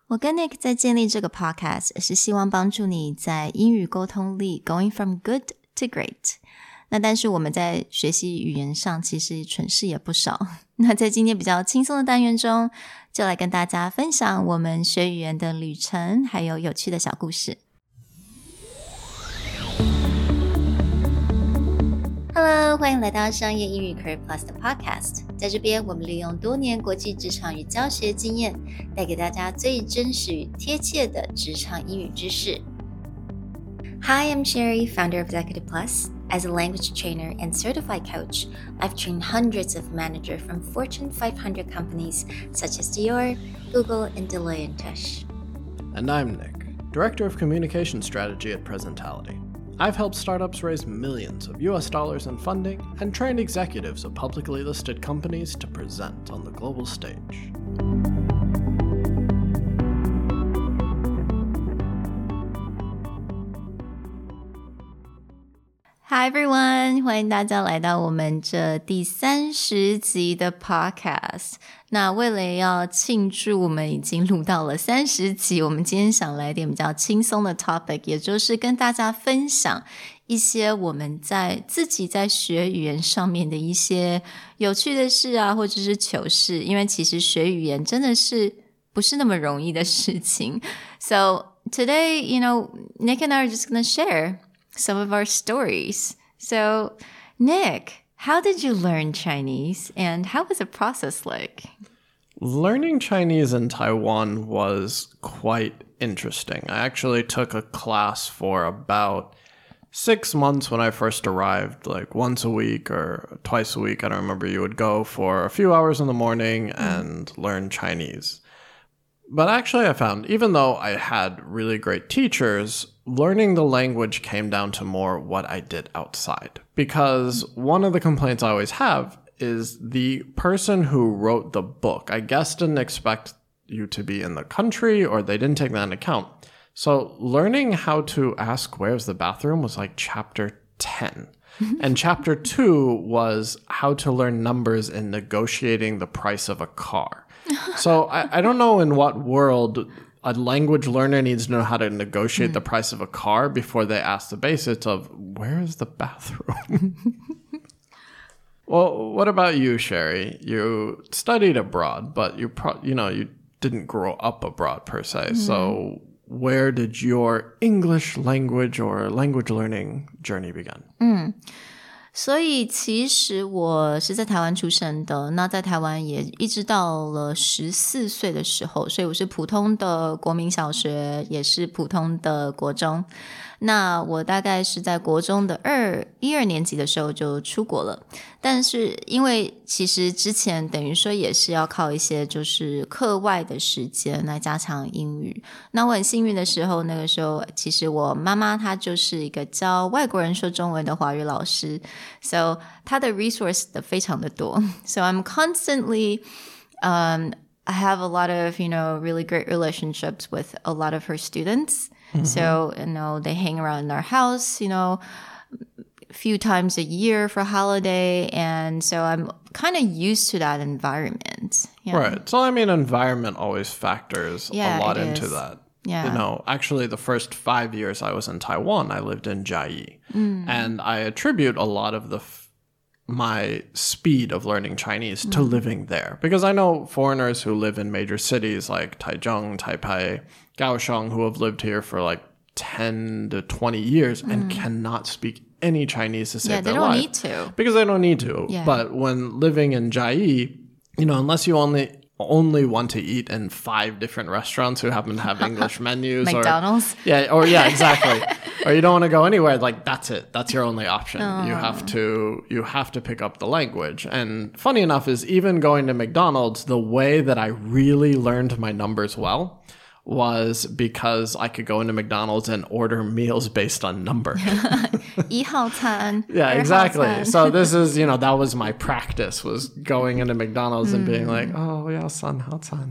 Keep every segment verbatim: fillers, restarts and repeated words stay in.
我跟 Nick 在建立這個 podcast 是希望幫助你在英語溝通力 going from good to great。那但是我們在學習語言上其實蠢事也不少。那在今天比較輕鬆的單元中，就來跟大家分享我們學語言的旅程，還有有趣的小故事。Hello， 歡迎來到商業英語 Career Plus 的 Podcast。在這邊，我們利用多年國際職場與教學經驗，帶給大家最真實與貼切的職場英語知識。Hi, I'm Sherry, founder of Executive Plus. As a language trainer and certified coach, I've trained hundreds of managers from Fortune five hundred companies such as Dior, Google, and Deloitte and Touche. And I'm Nick, Director of Communication Strategy at Presentality. I've helped startups raise millions of U S dollars in funding and trained executives of publicly listed companies to present on the global stage. Hi everyone， 歡迎大家來到我們這第三十集的 podcast。那為了要慶祝我們已經錄到了三十集，我們今天想來點比較輕鬆的 topic， 也就是跟大家分享一些我們在自己在學語言上面的一些有趣的事啊，或者是糗事。因為其實學語言真的是不是那麼容易的事情。So today, you know, Nick and I are just going to share some of our stories. So, Nick, how did you learn Chinese and how was the process like? Learning Chinese in Taiwan was quite interesting. I actually took a class for about six months when I first arrived, like once a week or twice a week. I don't remember. You would go for a few hours in the morning and mm. learn Chinese. But actually I found, even though I had really great teachers, learning the language came down to more what I did outside. Because one of the complaints I always have is the person who wrote the book, I guess, didn't expect you to be in the country, or they didn't take that into account. So learning how to ask where's the bathroom was like chapter ten. And chapter two was how to learn numbers in negotiating the price of a car. So I, I don't know in what world a language learner needs to know how to negotiate mm. the price of a car before they ask the basics of where is the bathroom? Well, what about you, Sherry? You studied abroad, but you pro- you know, you didn't grow up abroad per se. Mm. So where did your English language or language learning journey begin? Mm. 所以其實我是在台灣出生的，那在台灣也一直到了十四歲的時候，所以我是普通的國民小學，也是普通的國中。那我大概是在國中的二一二年級的時候就出國了，但是因為其實之前等於說也是要靠一些就是課外的時間來加強英語。那我很幸運的時候，那個時候其實我媽媽她就是一個教外國人說中文的華語老師， so 她的 resource 非常的多。 So I'm constantly um, I have a lot of, you know, really great relationships with a lot of her students.Mm-hmm. So, you know, they hang around in our house, you know, a few times a year for holiday. And so I'm kind of used to that environment. Yeah. Right. So, I mean, environment always factors yeah, a lot it into is. that. Yeah. You know, actually, the first five years I was in Taiwan, I lived in Chiayi. Mm. And I attribute a lot of the f- my speed of learning Chinese to mm. living there. Because I know foreigners who live in major cities like Taichung, Taipei, Kaohsiung, who have lived here for like ten to twenty years mm. and cannot speak any Chinese to save yeah, their life. Yeah, life. they don't need to. Because they don't need to. Yeah. But when living in Chiayi, you know, unless you only only want to eat in five different restaurants who happen to have English menus. McDonald's? Or, yeah, or yeah, exactly. Or you don't want to go anywhere, like that's it. That's your only option. Oh. You have to you have to pick up the language. And funny enough is even going to McDonald's, the way that I really learned my numbers well was because I could go into McDonald's and order meals based on number. 一號餐 Yeah, exactly. So this is, you know, that was my practice, was going into McDonald's and being like, oh, yeah, son, 好餐.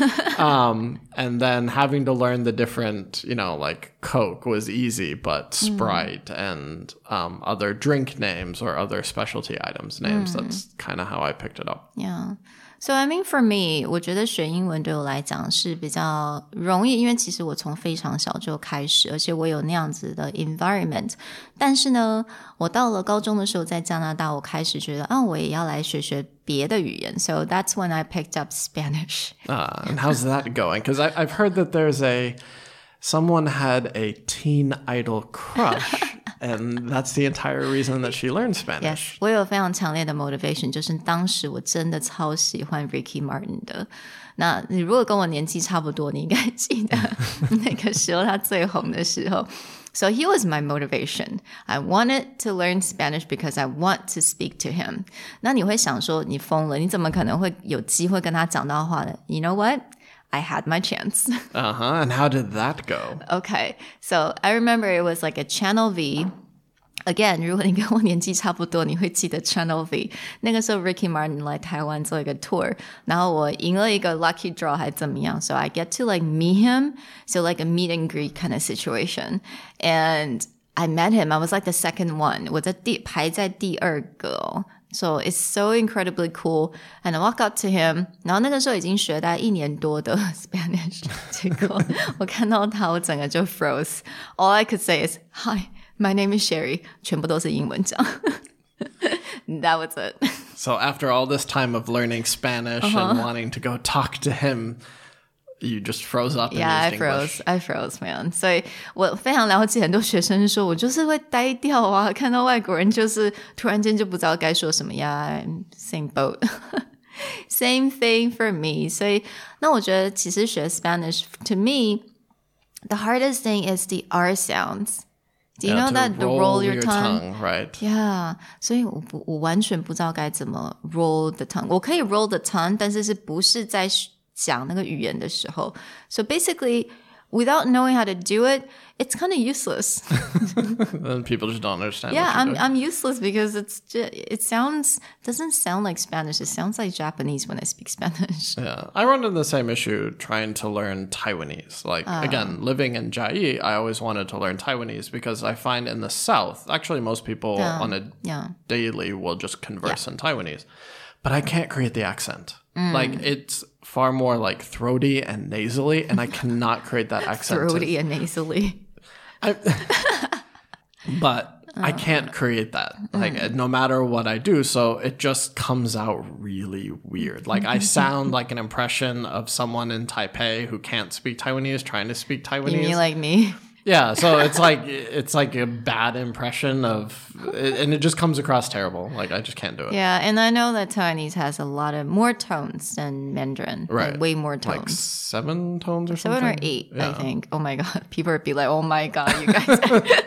um, and then having to learn the different, you know, like Coke was easy, but Sprite mm. and um, other drink names or other specialty items names, mm. that's kind of how I picked it up. Yeah. So I mean for me, 我覺得學英文對我來講是比較容易，因為其實我從非常小就開始，而且我有那樣子的 environment。但是呢，我到了高中的時候，在加拿大，我開始覺得啊，我也要來學學別的語言。So that's when I picked up Spanish. Uh, and how's that going? Because I've heard that there's a someone had a teen idol crush. And that's the entire reason that she learned Spanish. Yes, 我有非常強烈的 motivation， 就是當時我真的超喜歡 Ricky Martin 的。那你如果跟我年紀差不多，你應該記得那個時候他最紅的時候。So he was my motivation. I wanted to learn Spanish because I want to speak to him. 那你會想說，你瘋了，你怎麼可能會有機會跟他講到話呢？ You know what? I had my chance. Uh-huh. And how did that go? Okay. So I remember it was like a Channel V. Again, 如果你跟我年紀差不多，你會記得 Channel V。那個時候 Ricky Martin 來台灣做一個 tour， 然後我贏了一個 lucky draw 還怎麼樣 So I get to like meet him. So like a meet and greet kind of situation. And I met him. I was like the second one. 我在第排在第二個哦。So it's so incredibly cool. And I walk up to him. 然後那個時候已經學大概一年多的 Spanish. 結果我看到他，我整個就 froze. All I could say is, Hi.My name is Sherry. 全部都是英文講。That was it. So after all this time of learning Spanish uh-huh. and wanting to go talk to him, you just froze up and yeah, used I froze. English. I froze, man. 所以我非常了解很多學生說，我就是會呆掉啊，看到外國人就是突然間就不知道該說什麼呀。Same boat. Same thing for me. 所以那我覺得其實學 Spanish, to me, the hardest thing is the R sounds.Do you yeah, know that the roll, roll your, your tongue? tongue right. Yeah. 所以我不我完全不知道該怎麼 roll the tongue. 我可以 roll the tongue, 但是是不是在講那個語言的時候 So basically, without knowing how to do it, it's kind of useless. Then people just don't understand. Yeah, what I'm doing. I'm useless because it's just, it sounds doesn't sound like Spanish. It sounds like Japanese when I speak Spanish. Yeah, I run into the same issue trying to learn Taiwanese. Like uh, again, living in Chiayi, I always wanted to learn Taiwanese because I find in the South, actually most people yeah, on a yeah. daily will just converse yeah. in Taiwanese. But I can't create the accent. Mm. Like it's far more like throaty and nasally, and I cannot create that accent. Throaty to, and nasally. I, but I can't create that. Like mm. no matter what I do, so it just comes out really weird. Like I sound like an impression of someone in Taipei who can't speak Taiwanese trying to speak Taiwanese. You mean like me? Yeah, so it's like it's like a bad impression of, and it just comes across terrible. Like I just can't do it. Yeah, and I know that Taiwanese has a lot of more tones than Mandarin. Right, like way more tones. Like seven tones or something. Seven or eight, yeah. I think. Oh my god, people would be like, "Oh my god, you guys."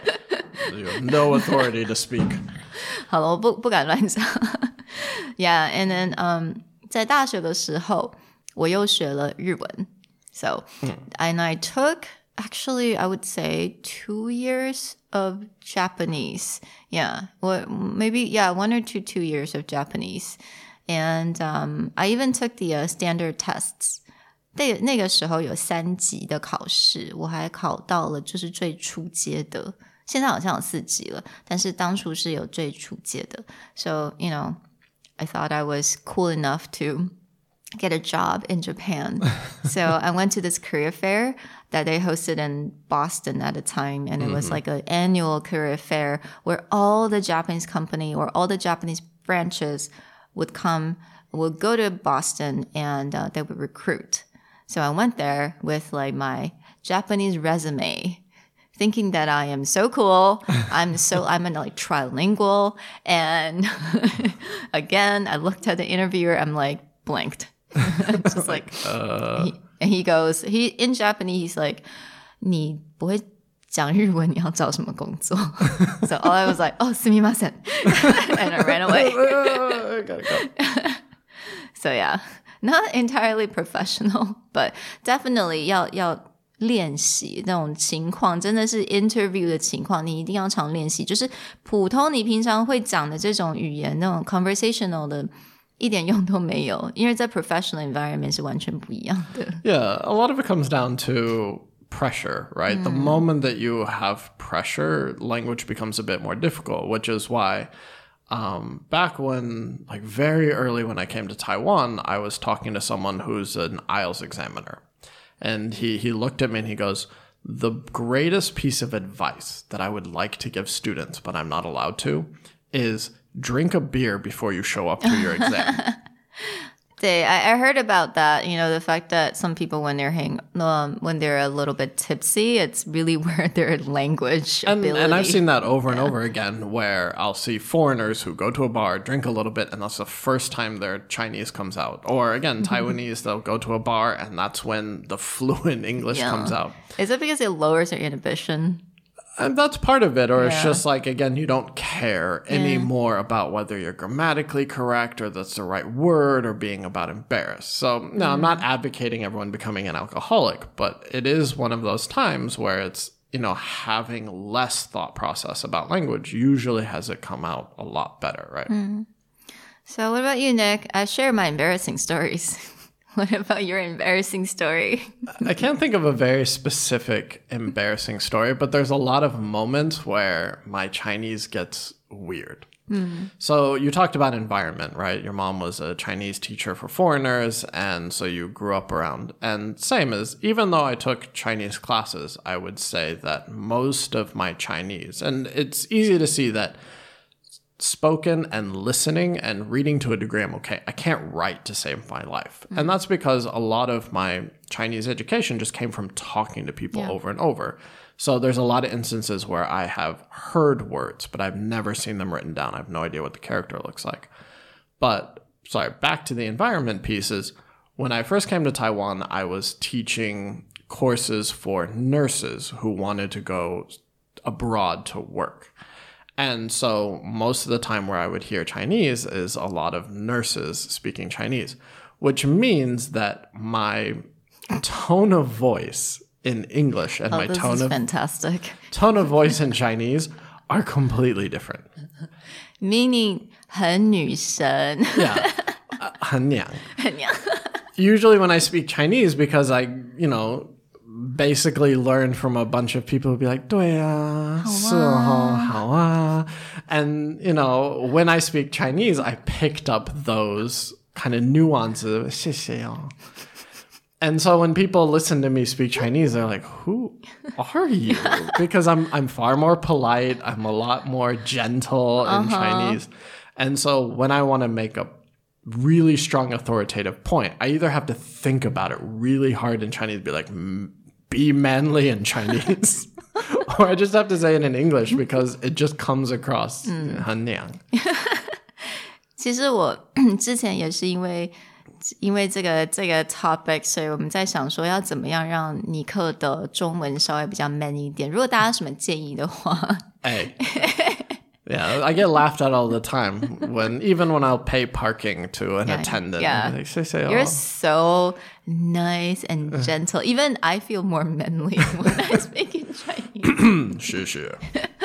You have no authority to speak. 好了，我不不敢亂講。Yeah, and then um, 在大學的時候，我又學了日文。So, mm. and I took.Actually, I would say two years of Japanese. Yeah, or maybe, yeah, one or two, two years of Japanese. And um, I even took the uh, standard tests. 那那個時候有三級的考試，我還考到了就是最初階的。現在好像有四級了，但是當初是有最初階的。So, you know, I thought I was cool enough to...get a job in Japan. So I went to this career fair that they hosted in Boston at a time. And it mm-hmm. was like an annual career fair where all the Japanese company or all the Japanese branches would come, would go to Boston and uh, they would recruit. So I went there with like my Japanese resume, thinking that I am so cool. I'm so, I'm like trilingual. And again, I looked at the interviewer, I'm like blanked.Just like, uh, he, and he goes, he in Japanese, he's like, 你不会講日文，你要找什麼工作? So all I was like, oh, すみません. And I ran away. Gotta go. So yeah, not entirely professional, but definitely 要要練習那種情況，真的是 interview 的情況，你一定要常練習。就是普通你平常會講的這種語言，那種 conversational 的。一點用都沒有，因為在 professional environment 是完全不一樣的。 Yeah, a lot of it comes down to pressure, right? Mm. The moment that you have pressure, language becomes a bit more difficult, which is why um, back when, like very early when I came to Taiwan, I was talking to someone who's an I E L T S examiner. And he, he looked at me and he goes, the greatest piece of advice that I would like to give students, but I'm not allowed to, is drink a beer before you show up to your exam. 对, I, I heard about that. You know, the fact that some people, when they're hang, um, when they're a little bit tipsy, it's really where their language and, ability. And I've seen that over and yeah. over again, where I'll see foreigners who go to a bar, drink a little bit, and that's the first time their Chinese comes out. Or again, Taiwanese, they'll go to a bar, and that's when the fluent English yeah. comes out. Is it because it lowers their inhibition? And that's part of it, or yeah. it's just like, again, you don't care yeah. anymore about whether you're grammatically correct or that's the right word or being about embarrassed. So, no, mm. I'm not advocating everyone becoming an alcoholic, but it is one of those times where it's, you know, having less thought process about language usually has it come out a lot better, right? Mm. So what about you, Nick? I share my embarrassing stories. What about your embarrassing story? I can't think of a very specific embarrassing story, but there's a lot of moments where my Chinese gets weird. Mm. So you talked about environment, right? Your mom was a Chinese teacher for foreigners, and so you grew up around. And same as, even though I took Chinese classes, I would say that most of my Chinese, and it's easy to see that spoken and listening and reading to a degree I'm okay. I can't write to save my life. Mm-hmm. And that's because a lot of my Chinese education just came from talking to people yeah. over and over. So there's a lot of instances where I have heard words, but I've never seen them written down. I have no idea what the character looks like. But, sorry, back to the environment pieces. When I first came to Taiwan, I was teaching courses for nurses who wanted to go abroad to work. And so most of the time where I would hear Chinese is a lot of nurses speaking Chinese, which means that my tone of voice in English and oh, my this tone is of fantastic. tone of voice in Chinese are completely different. Meaning 很女神. Yeah. Uh, 很娘. 很娘. Usually when I speak Chinese, because I, you know, basically learned from a bunch of people who'd be like, 对啊,是哦,好啊. And, you know, when I speak Chinese, I picked up those kind of nuances. 謝謝哦. And so when people listen to me speak Chinese, they're like, who are you? Because I'm I'm far more polite. I'm a lot more gentle in uh-huh. Chinese. And so when I want to make a really strong authoritative point, I either have to think about it really hard in Chinese, be like, be manly in Chinese, or I just have to say it in English because it just comes across 很娘. 其實我之前也是因为因为这個這個 topic， 所以我們在想說要怎麼樣讓尼克的中文稍微比較 man 一點。如果大家有什麼建議的話， 哎。Yeah, I get laughed at all the time when even when I'll pay parking to an yeah, attendant. Yeah. Like, say, say, You're oh. so nice and gentle. Even I feel more manly when I speak in Chinese. 是是.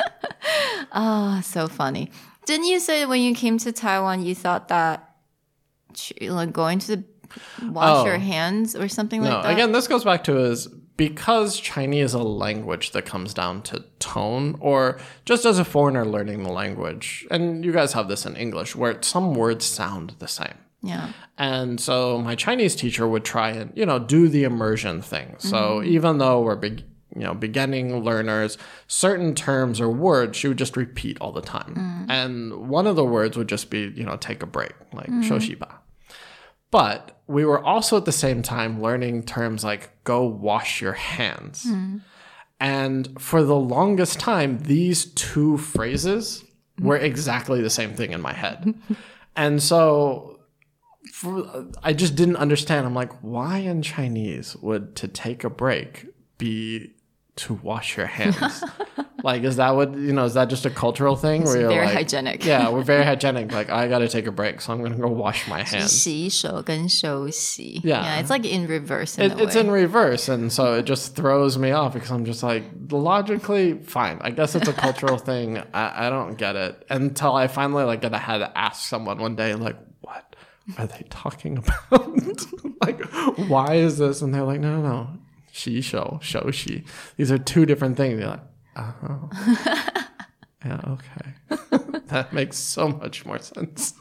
Oh, so funny. Didn't you say when you came to Taiwan you thought that like going to the, wash oh. your hands or something no, like that? Again, this goes back to is because Chinese is a language that comes down to tone, or just as a foreigner learning the language, and you guys have this in English, where some words sound the same. Yeah. And so my Chinese teacher would try and, you know, do the immersion thing. So mm-hmm. even though we're big, you know, beginning learners, certain terms or words she would just repeat all the time. Mm. And one of the words would just be, you know, take a break, like mm. 休息吧. But we were also at the same time learning terms like go wash your hands. Mm. And for the longest time, these two phrases were exactly the same thing in my head. And so for, I just didn't understand. I'm like, why in Chinese would to take a break be to wash your hands? Like, is that what, you know, is that just a cultural thing? It's where you're very like, hygienic. Yeah, we're very hygienic. Like, I got to take a break, so I'm going to go wash my hands. 洗手跟休息. Yeah. Yeah, it's like in reverse in it, a It's way. in reverse, and so it just throws me off because I'm just like, logically, fine. I guess it's a cultural thing. I, I don't get it. Until I finally, like, I had to ask someone one day, like, what are they talking about? Like, why is this? And they're like, no, no, no. 洗手, 休息. These are two different things. You're like, oh. Yeah, okay. That makes so much more sense.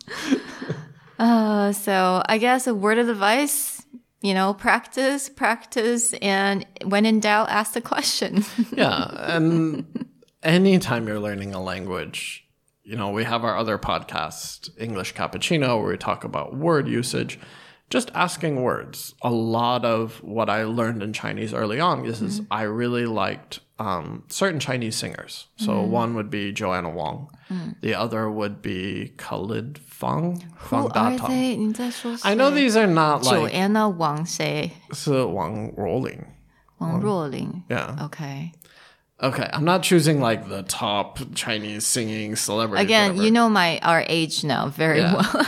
uh, so I guess a word of advice, you know, practice, practice, and when in doubt, ask the question. Yeah, and anytime you're learning a language, you know, we have our other podcast, English Cappuccino, where we talk about word usage. Just asking words. A lot of what I learned in Chinese early on is, mm-hmm. is I really liked um, certain Chinese singers. So mm-hmm. one would be Joanna Wong. Mm. The other would be Khalid Fang. Who Fang are they? 你在說誰? I know these are not like... Joanna Wang 誰? 是王若琳. 王若琳. Yeah. Okay. Okay, I'm not choosing like the top Chinese singing celebrities. Again, whatever. you know my our age now very yeah. well.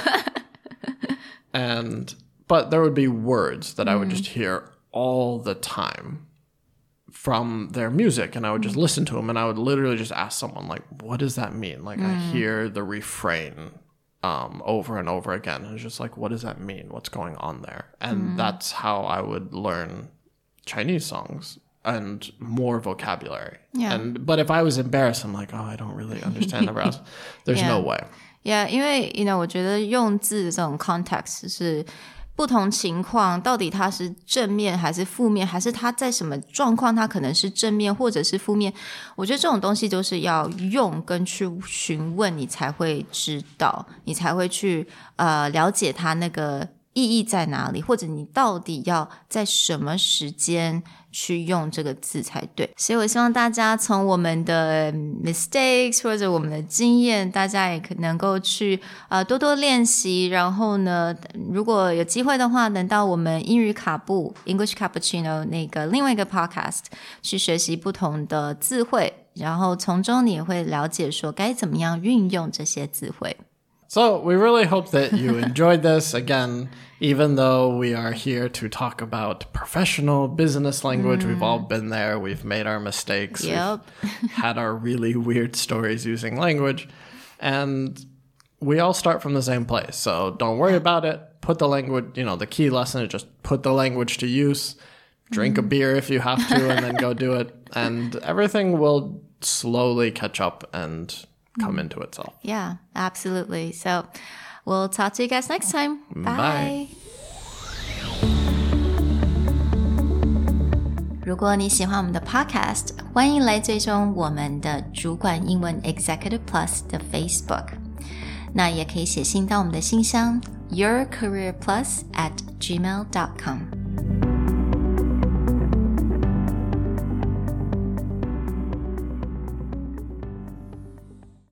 and... But there would be words that I would just hear all the time from their music. And I would just listen to them. And I would literally just ask someone, like, what does that mean? Like, mm. I hear the refrain um, over and over again. And it's just like, what does that mean? What's going on there? And mm. that's how I would learn Chinese songs and more vocabulary. Yeah. And But if I was embarrassed, I'm like, oh, I don't really understand the rest. There's yeah. no way. Yeah, 因为 you know, 我觉得用字的这种 context 是不同情況到底它是正面還是負面，還是它在什麼狀況它可能是正面或者是負面，我覺得這種東西都是要用跟去詢問你才會知道，你才會去呃了解它那個意義在哪裡，或者你到底要在什麼時間去用這個字才對。所以我希望大家從我們的 mistakes 或者我們的經驗，大家也可能夠去呃多多練習，然後呢如果有機會的話，能到我們英語卡布 English Cappuccino 那個另外一個 podcast 去學習不同的字彙，然後從中你也會了解說該怎麼樣運用這些字彙。 So we really hope that you enjoyed this. Again, even though we are here to talk about professional business language, mm. we've all been there. We've made our mistakes. Yep. We've had our really weird stories using language. And we all start from the same place. So don't worry about it. Put the language, you know, the key lesson is just put the language to use. Drink mm. a beer if you have to, and then go do it. And everything will slowly catch up and come into itself. Yeah, absolutely. So we'll talk to you guys next time. Bye. Bye. 如果你喜歡我們的 podcast， 歡迎來追蹤我們的主管英文 Executive Plus 的 Facebook。那也可以寫信到我們的信箱 yourcareerplus at gmail dot com。